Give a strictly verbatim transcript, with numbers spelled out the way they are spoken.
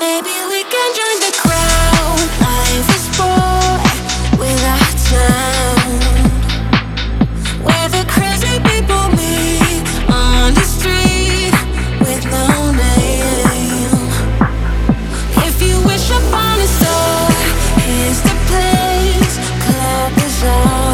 Maybe we can join the crowd. Life is bored without sound. Where the crazy people meet on the street with no name. If you wish upon a star, here's the place. Clap is on.